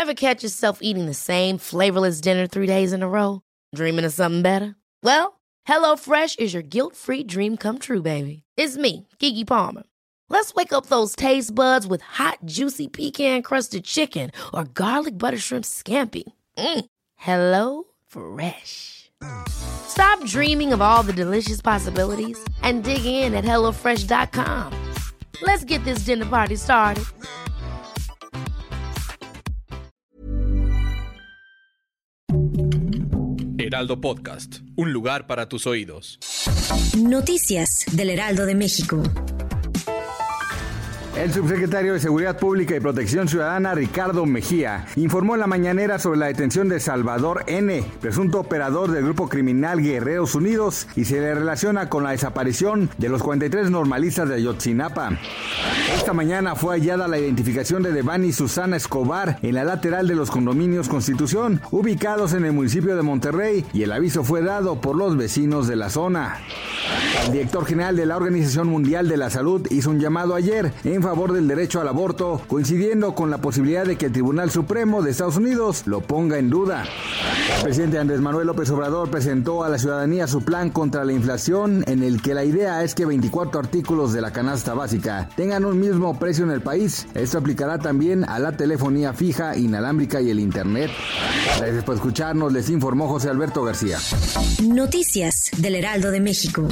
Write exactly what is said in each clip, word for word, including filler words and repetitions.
Ever catch yourself eating the same flavorless dinner three days in a row? Dreaming of something better? Well, HelloFresh is your guilt-free dream come true, baby. It's me, Keke Palmer. Let's wake up those taste buds with hot, juicy pecan-crusted chicken or garlic butter shrimp scampi. Mm. Hello Fresh. Stop dreaming of all the delicious possibilities and dig in at hello fresh dot com. Let's get this dinner party started. Heraldo Podcast, un lugar para tus oídos. Noticias del Heraldo de México. El subsecretario de Seguridad Pública y Protección Ciudadana, Ricardo Mejía, informó en la mañanera sobre la detención de Salvador N., presunto operador del grupo criminal Guerreros Unidos, y se le relaciona con la desaparición de los cuarenta y tres normalistas de Ayotzinapa. Esta mañana fue hallada la identificación de Devani Susana Escobar en la lateral de los condominios Constitución, ubicados en el municipio de Monterrey, y el aviso fue dado por los vecinos de la zona. El director general de la Organización Mundial de la Salud hizo un llamado ayer en favor del derecho al aborto, coincidiendo con la posibilidad de que el Tribunal Supremo de Estados Unidos lo ponga en duda. El presidente Andrés Manuel López Obrador presentó a la ciudadanía su plan contra la inflación, en el que la idea es que veinticuatro artículos de la canasta básica tengan un mismo precio en el país. Esto aplicará también a la telefonía fija, inalámbrica y el internet. Gracias por escucharnos, les informó José Alberto García. Noticias del Heraldo de México.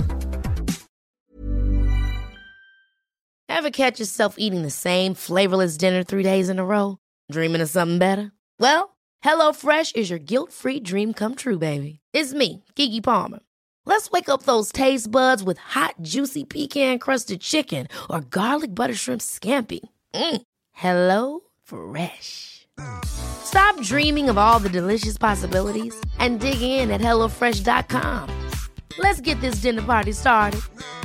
Ever catch yourself eating the same flavorless dinner three days in a row? Dreaming of something better? Well, HelloFresh is your guilt-free dream come true, baby. It's me, Keke Palmer. Let's wake up those taste buds with hot, juicy pecan-crusted chicken or garlic butter shrimp scampi. Mm. Hello Fresh. Stop dreaming of all the delicious possibilities and dig in at hello fresh dot com. Let's get this dinner party started.